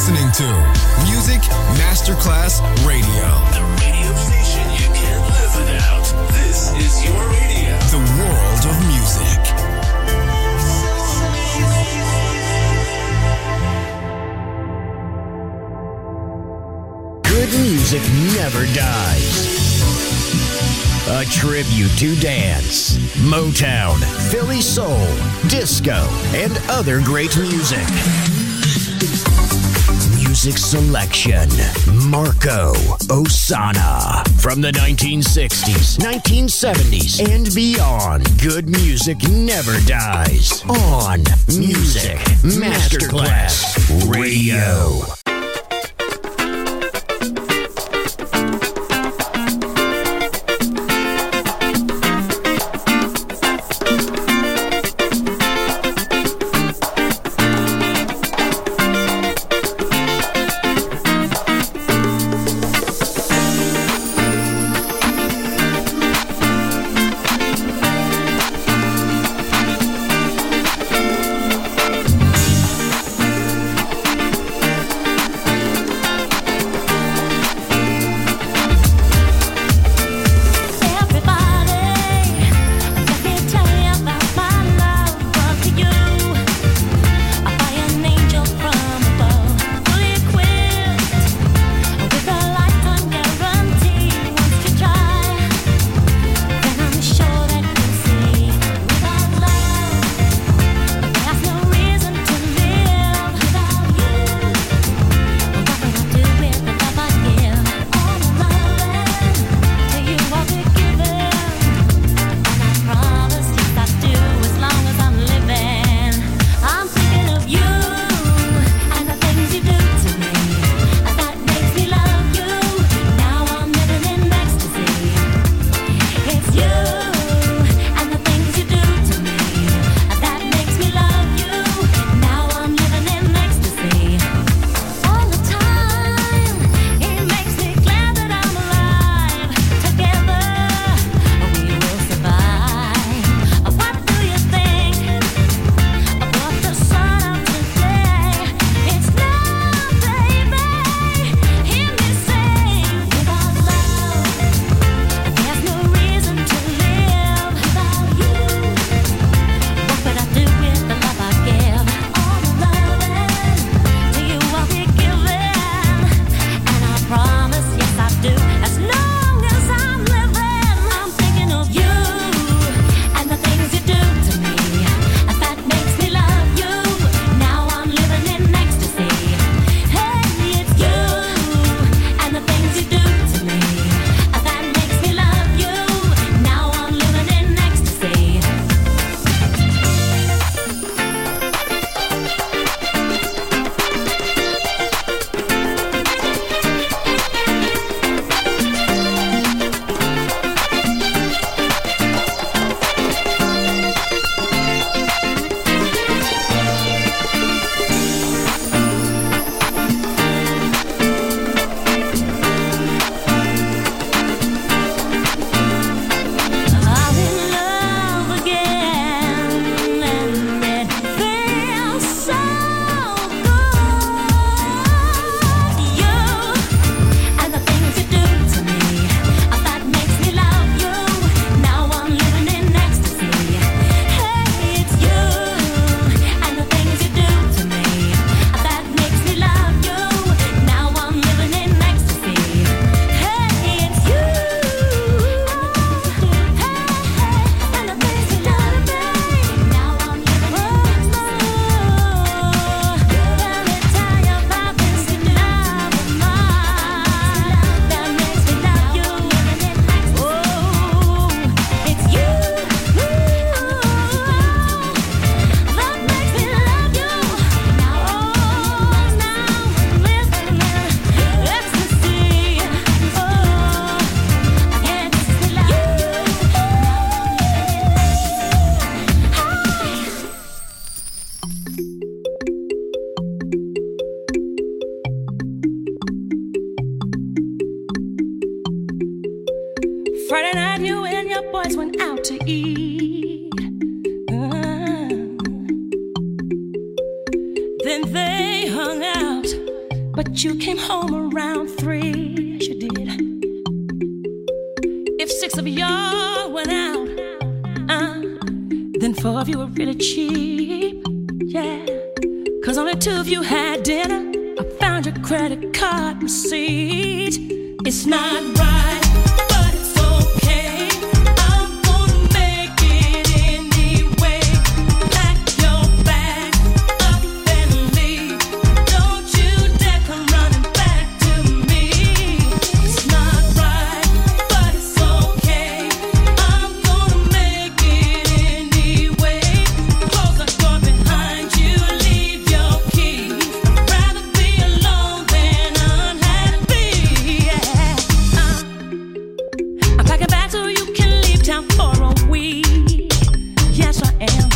listening to Music Masterclass Radio. The radio station you can't live without. This is your radio. The world of music. Good music never dies. A tribute to dance, Motown, Philly soul, disco, and other great music. Music selection, Marco Ossanna. From the 1960s, 1970s, and beyond, good music never dies. On Music Masterclass Radio. Friday night, you and your boys went out to eat. Then they hung out but you came home around 3. Yes, you did. If 6 of y'all went out, then 4 of you were really cheap. Yeah, 'cause only 2 of you had dinner. I found your credit card receipt. It's not right, but it's okay. I'm gonna make it anyway. Pack your bags up and leave. Don't you dare come running back to me. It's not right, but it's okay. I'm gonna make it anyway. Close the door behind you, leave your key. I'd rather be alone than unhappy. Yeah. I'm packing back so you can leave town for a week. Yes, I am.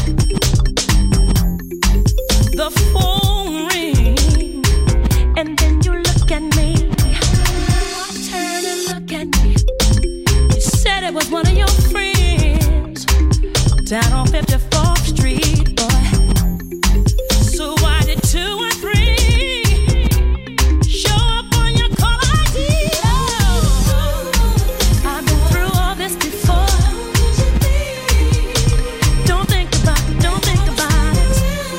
The phone rings, and then you look at me. Turn and look at me. You said it was one of your friends down on 54th Street, boy. So why did 2 and 3 show up on your call ID? I've been through all this before. Don't think about it, don't think about it.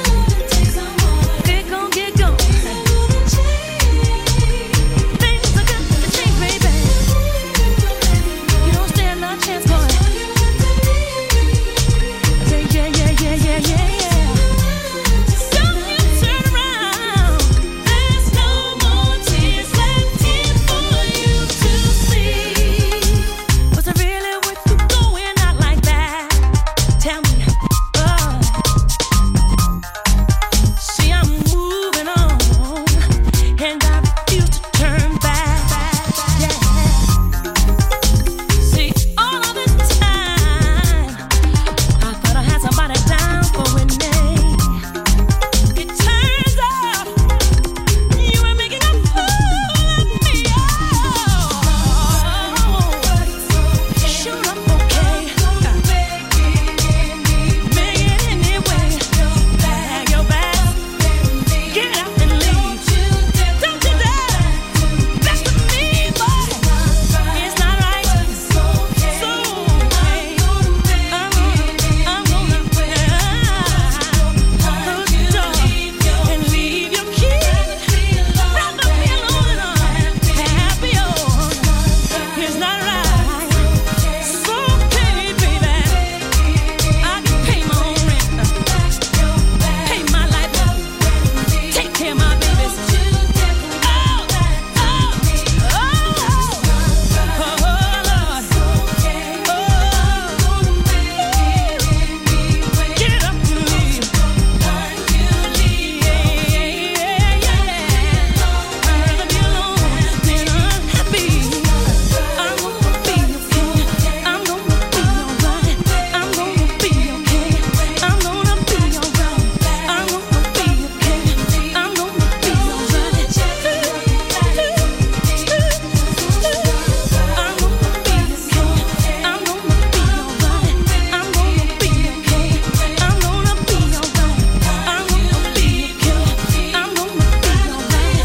Get gone, get gone. Things are good to change, baby. You don't stand no chance, boy. Yeah, yeah, yeah, yeah, yeah, yeah. Don't you turn around. There's no more tears left here for you to see. Was it really worth you going out like that? Tell me. See, I'm moving on, and I refuse to turn back. Yeah. See, all of this time, I thought I had somebody down for winning. It turns out you were making a fool of me. Shoot up, okay. Make it anyway. Bag your bag, get up and leave. Don't you dare mess with me, boy. It's not right. So I'm gonna close the door and leave your key. Rather be alone and unhappy. It's not right. So okay, baby. I can pay my own rent, pay my light bill, take care of my babies. Get up and leave. I'd rather be alone than unhappy. I'm gonna be okay. I'm gonna be alright. I'm gonna be okay. I'm gonna be alright. I'm gonna be okay. I'm gonna be alright. I'm gonna be okay. I'm gonna be alright. I'm gonna be okay. I'm gonna be alright. I'm gonna be okay. I'm gonna be alright.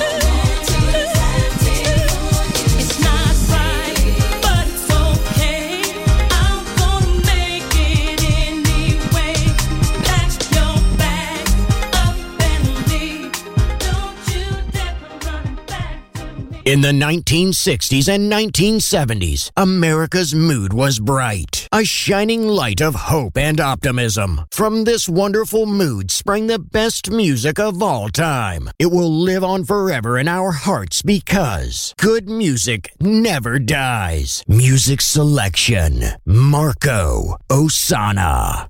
It's not right, but it's okay. I'm gonna make it anyway. Pack your bags up and leave. Don't you dare come running back to me. In the 1960s and 1970s, America's mood was bright, a shining light of hope and optimism. From this wonderful mood sprang the best music of all time. It will live on forever in our hearts because good music never dies. Music selection, Marco Ossanna.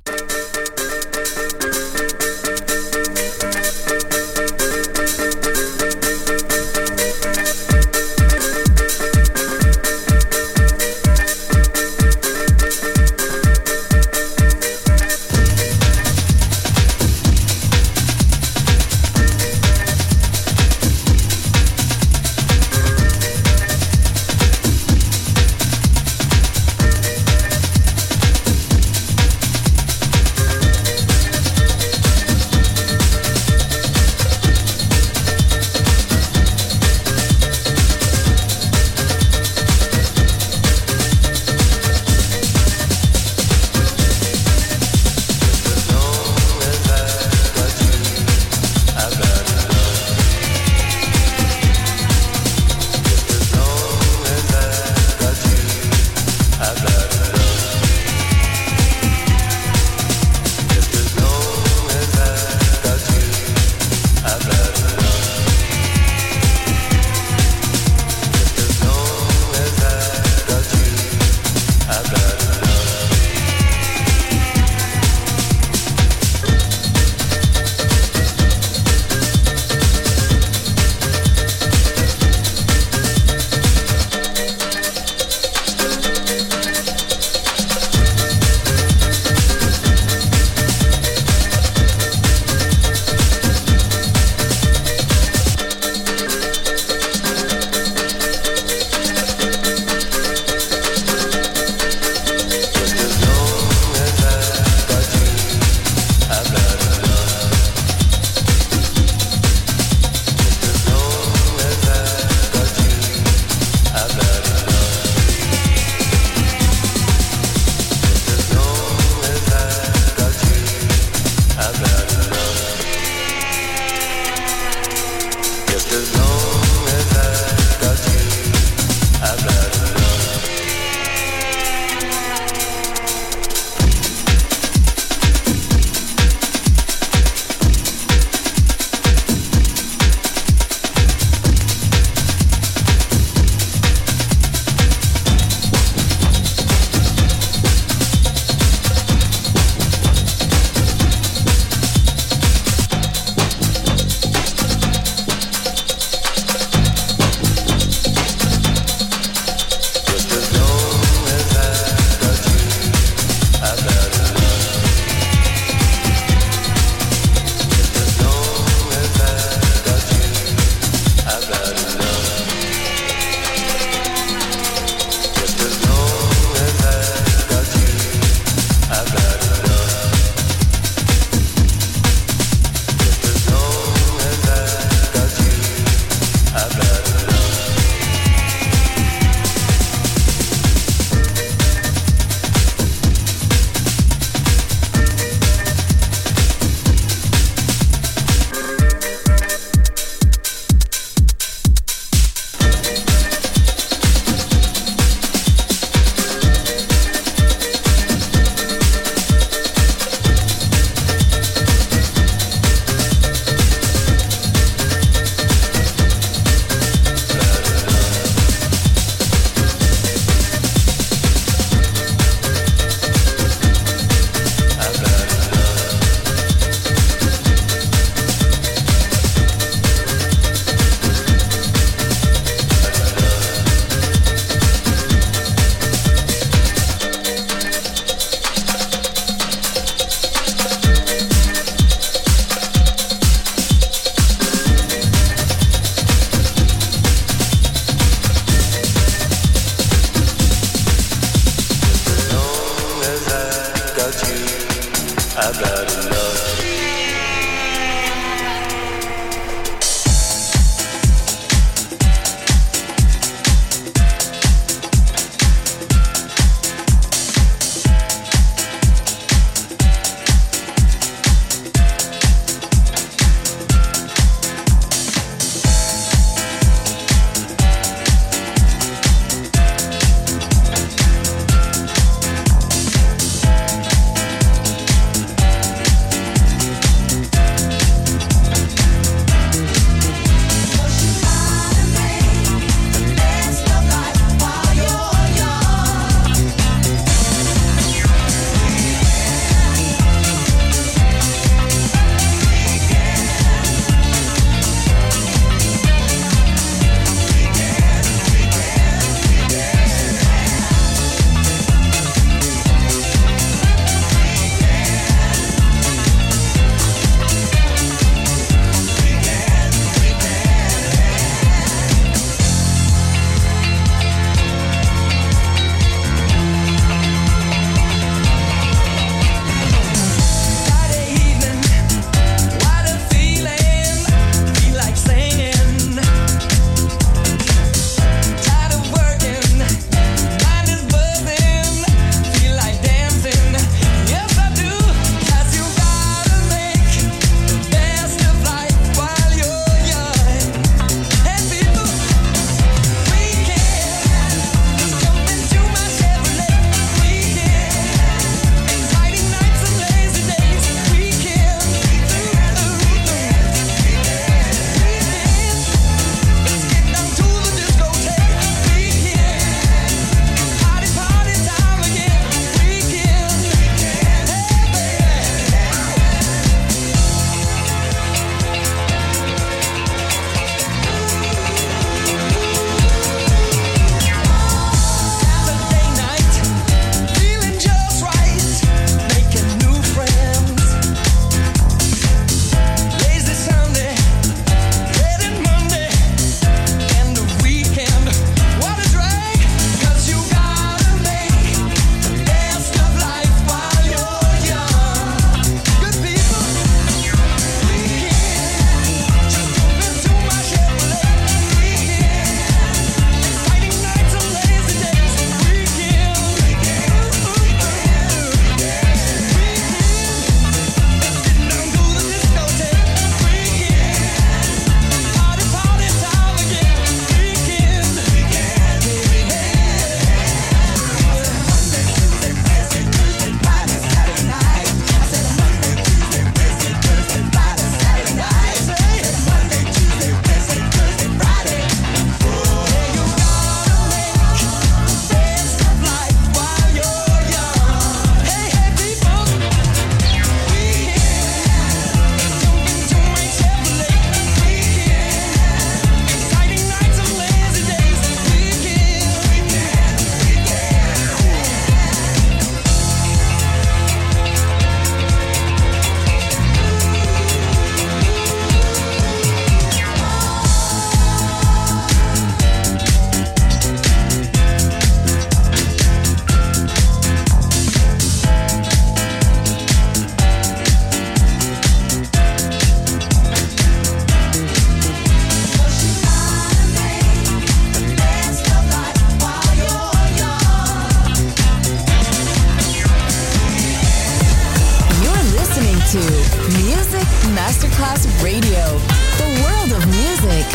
Masterclass Radio, the world of music.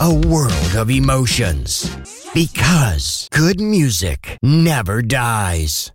a world of emotions. Because good music never dies.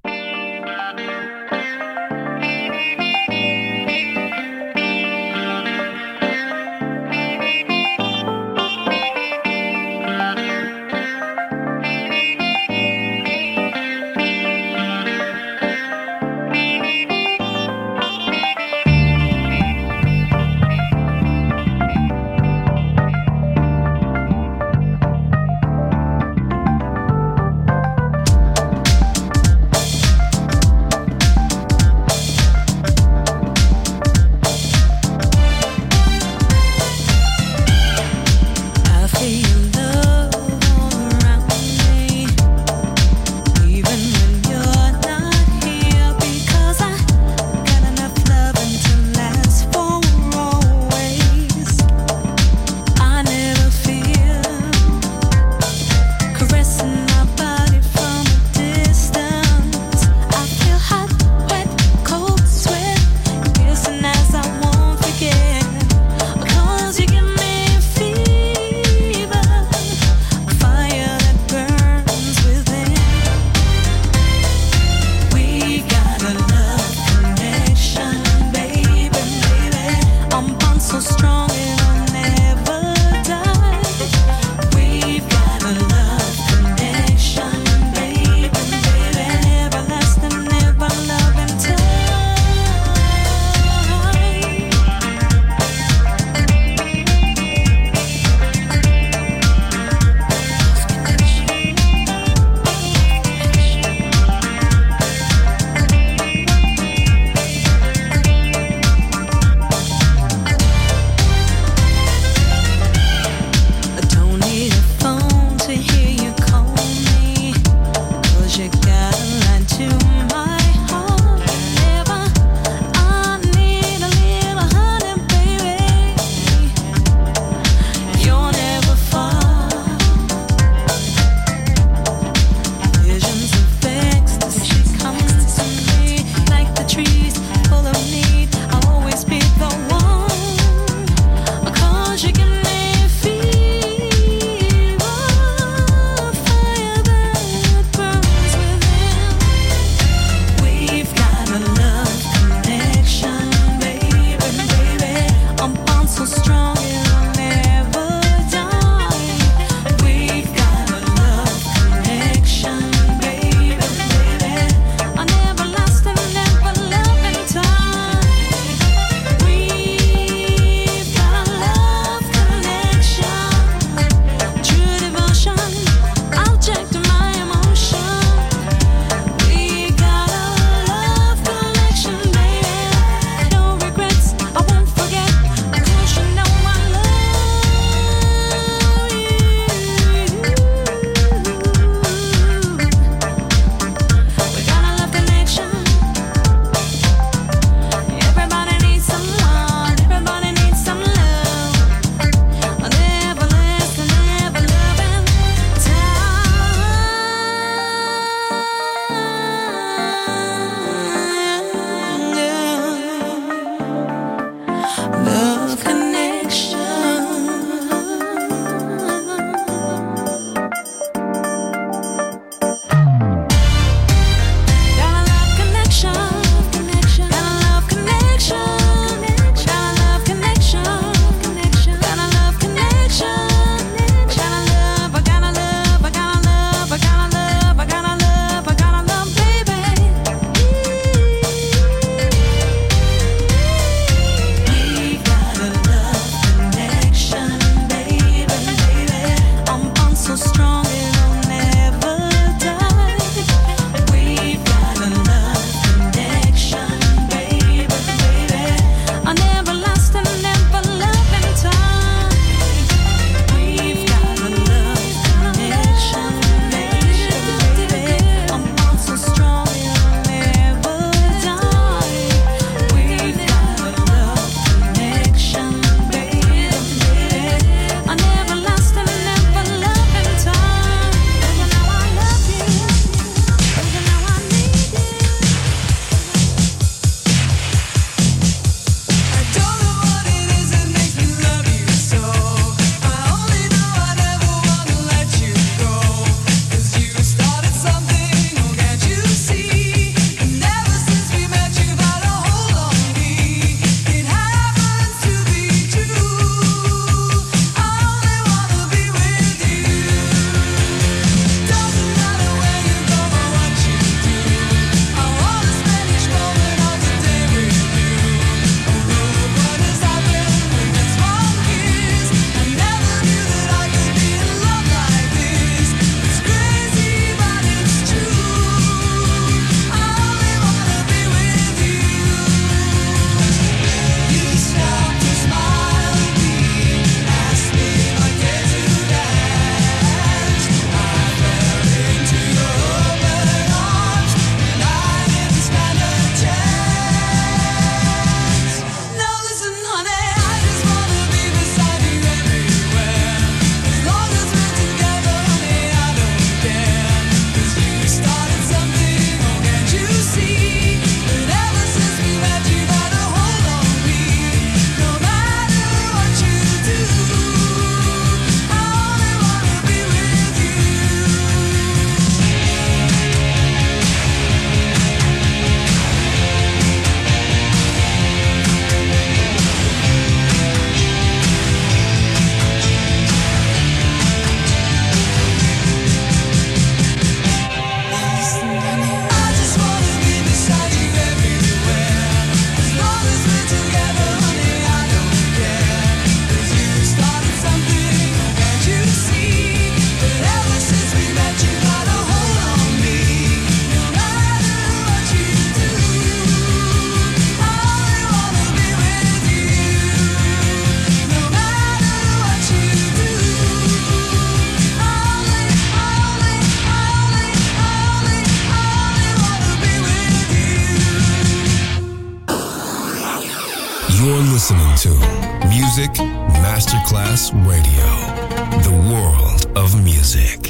You're listening to Music Masterclass Radio, the world of music.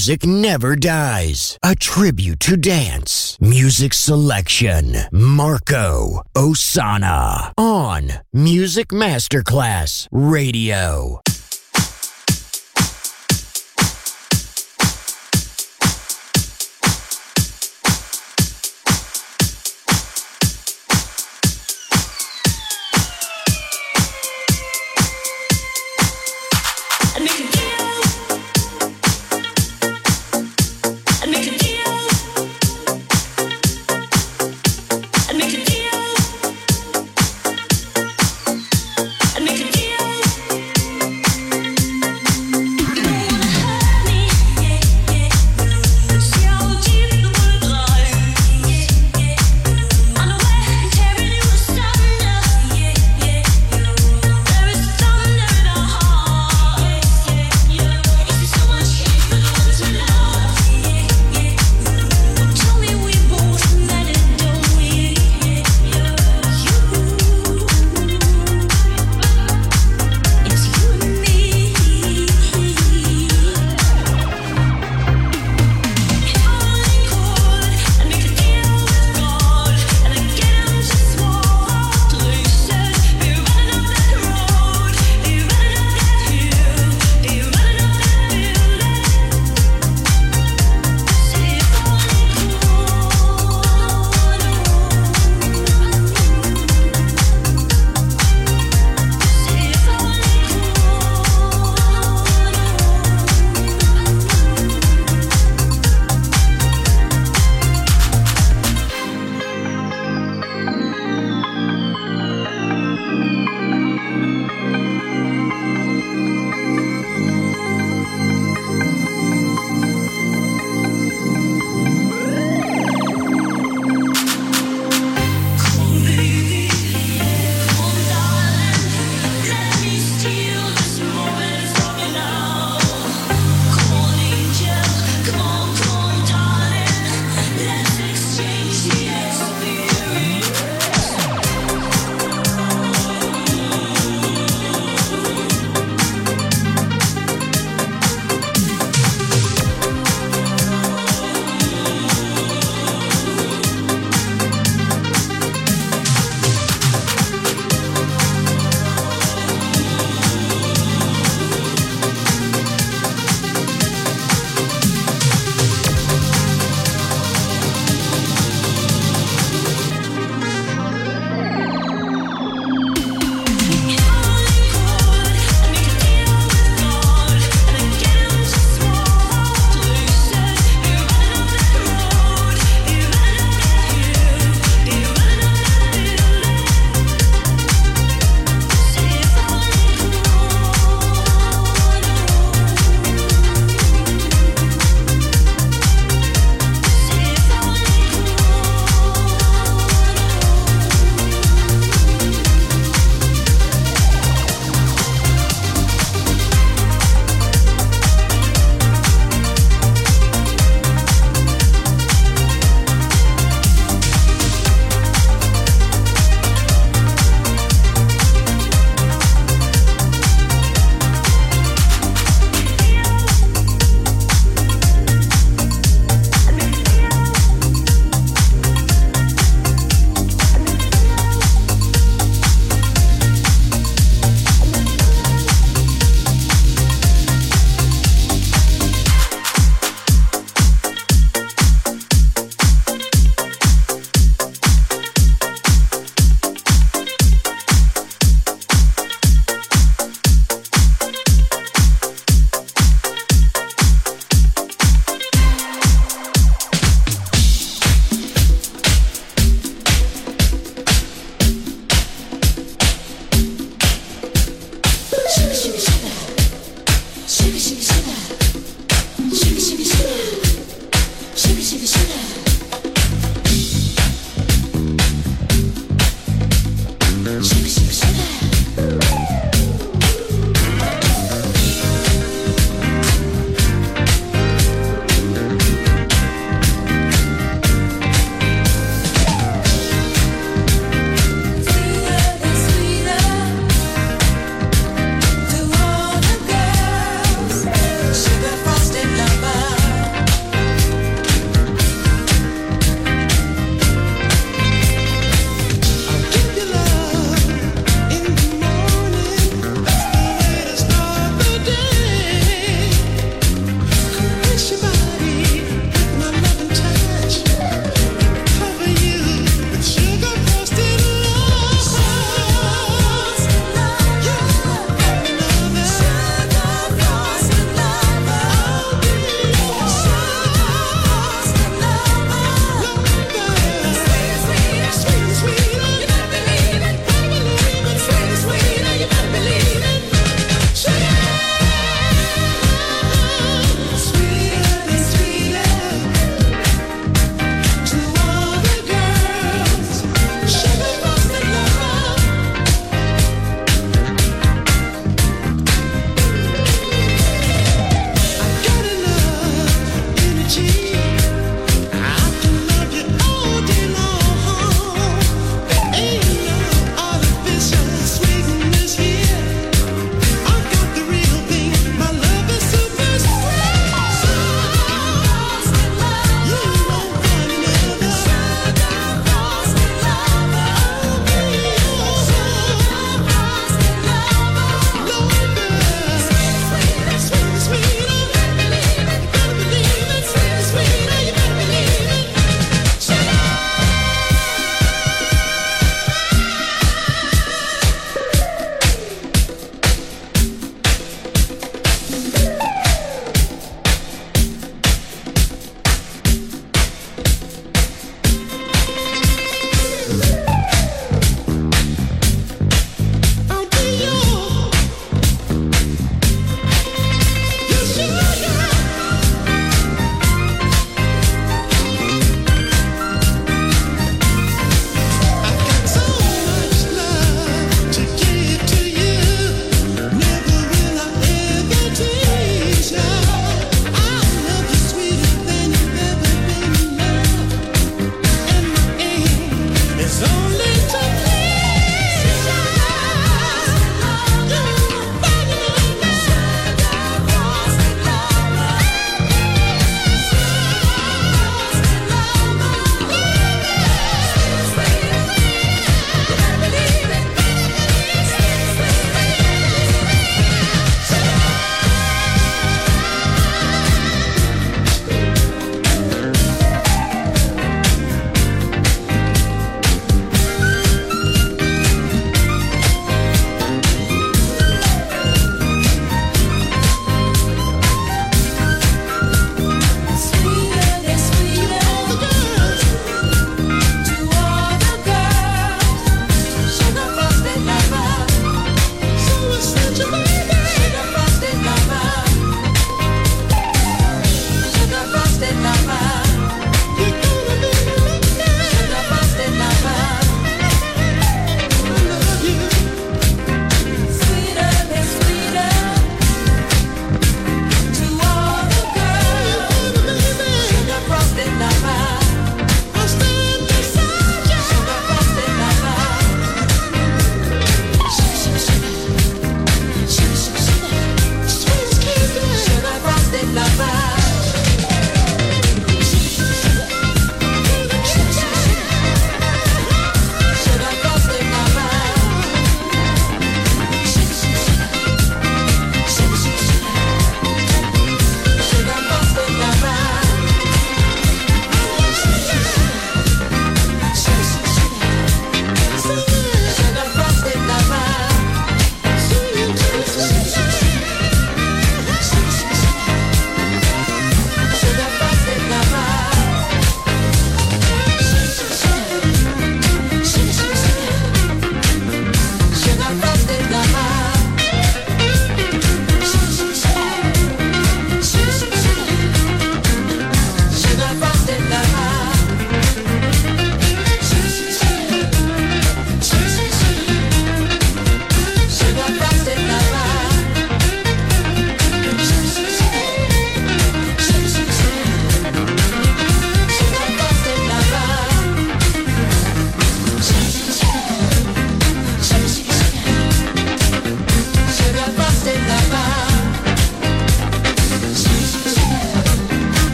music never dies. A tribute to dance. Music selection. Marco Ossanna. On Music Masterclass Radio. I make a deal.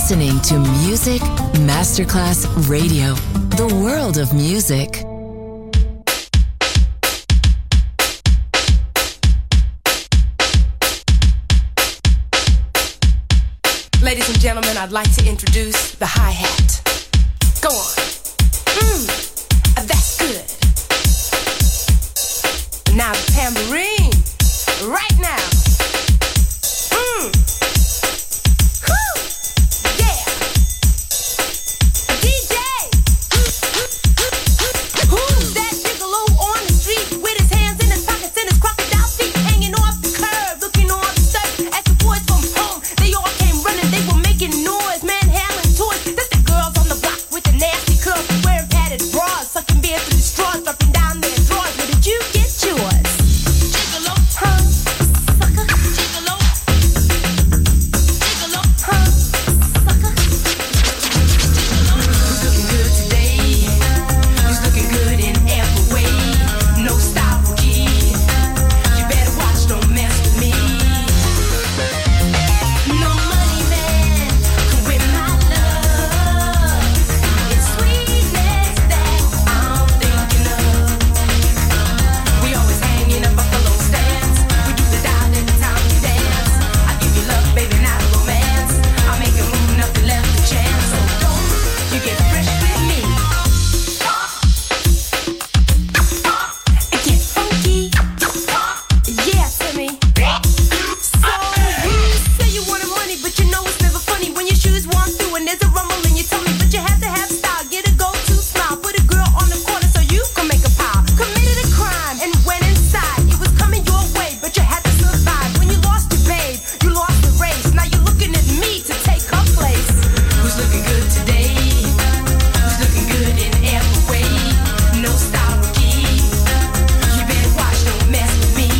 listening to Music Masterclass Radio, the world of music. Ladies and gentlemen, I'd like to introduce the hi-hat. Go on. That's good. Now the tambourine. Right now. Yeah. DJ. Who's that gigolo on the street with his hands in his pockets and his crocodile feet hanging off the curb, looking all upset as the boys from home? They all came running, they were making noise, manhandling toys. That's the girls on the block with the nasty curls, wearing padded bras, sucking beer through the straws, dropping down their drawers. Where did you get yours? Gigolo, huh? Sucker, gigolo. Gigolo, huh? Sucker. Who's looking good today? Who's looking good in every way? No style rookie. You better watch, don't mess with me. No money man can win my love. It's sweetness that I'm thinking of. We always hang in a buffalo stance. We do the dial every time we dance. I give you love, baby, not romance. I make it move, nothing left to chance. So don't you get fresh with me. And get funky. Yeah, Timmy. So you say you wanted money, but you know it's never funny when your shoes walk through and there's a rumble in your tummy. But you have to have style, get a go-to smile, put a girl on the corner so you can make a pile. Committed a crime and went inside. It was coming your way, but you had to survive. When you lost your babe, you lost the race. Now you're looking at me to take her place. Who's looking good today? Who's looking good in every way? No style rookie. You better watch, don't mess with me.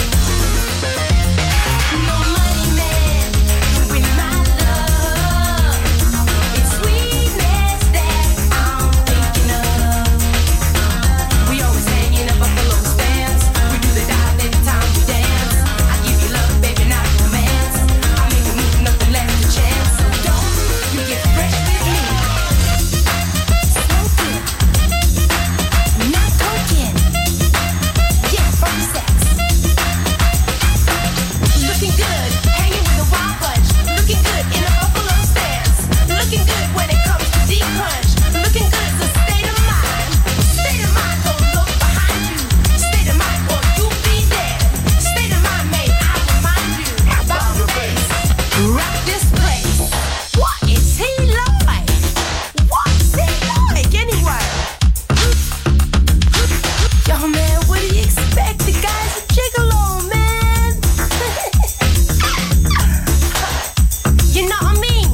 No money man can win my love. It's sweetness that I'm thinking of. We always hang in a buffalo stance. We do the dial every time we dance. I give you love, baby, not romance. I make it move, nothing left to chance. So don't you get fresh with me. Smoking, not coking. Yeah, from sex. Looking good, hanging with a wild bunch. Looking good in a buffalo stance. Looking good when it comes to deep punch. Looking good is a state of mind. State of mind, don't look behind you. State of mind, or you'll be dead. State of mind, may I remind you about the face. Rock this place. What is he like? What's he like anyway? Yo, man, what do you expect? The guy's a gigolo, man. You know what I mean?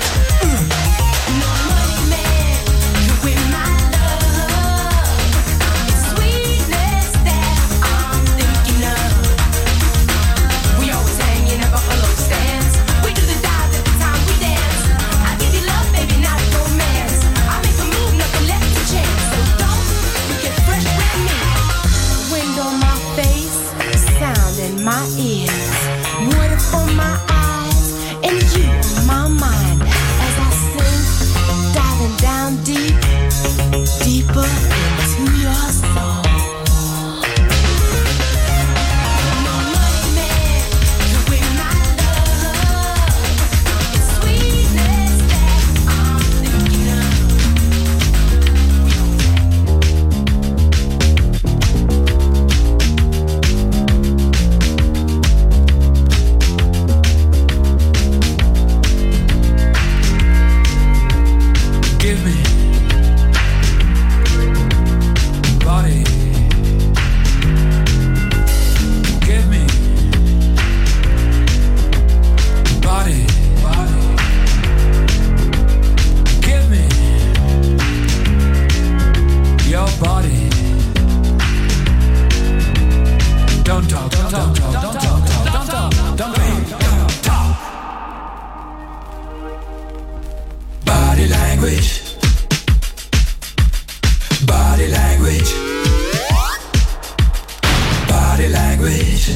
No money man can win my love. It's sweetness that I'm thinking of. We always hang in a buffalo stance. We do the dive every time we dance. I give you love, baby, not romance. I make a move, nothing left to chance. So don't you get fresh with me. Wind on my face, sound in my ears, water for my eyes, and you on my mind as I sing, diving down deep, deeper into your soul. No money man can win my love. It's sweetness that I'm thinking of. Give me body. Give me body. Give me your body. Don't talk, don't talk, don't talk, don't talk, don't talk, don't talk. Body language. Body language. Body language.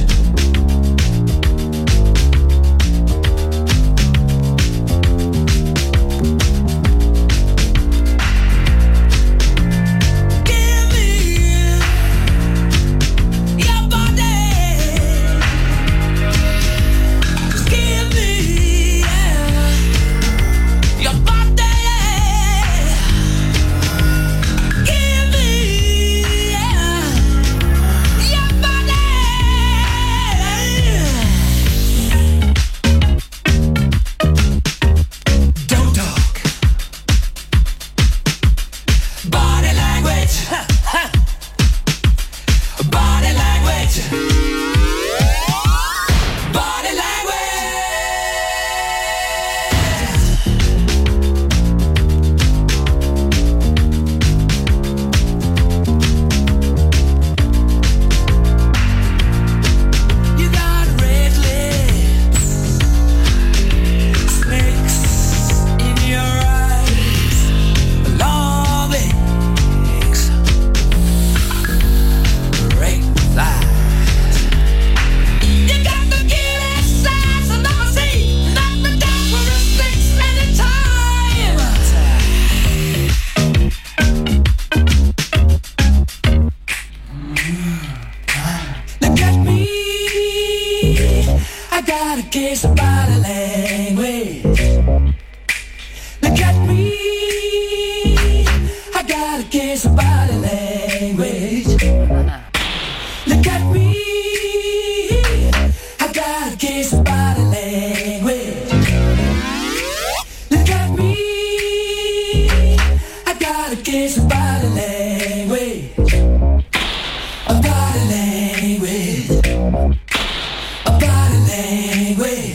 case of body language. Look at me, I got a case of body language. Look at me, I got a case of body language. Look at me, I got a case of body language. A body language. A body language.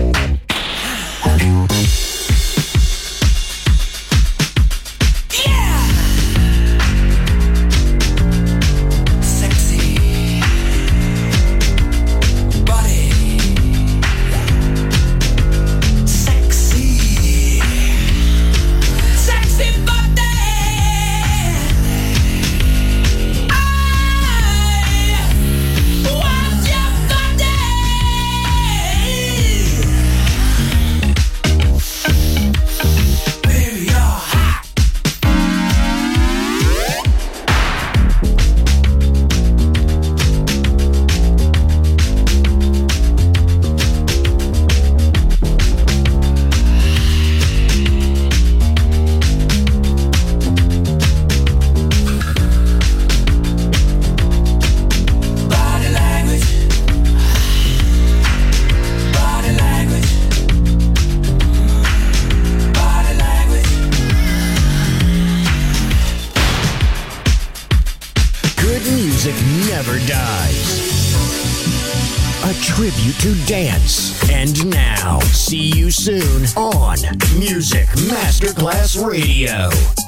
Never dies. A tribute to dance. And now, see you soon on Music Masterclass Radio.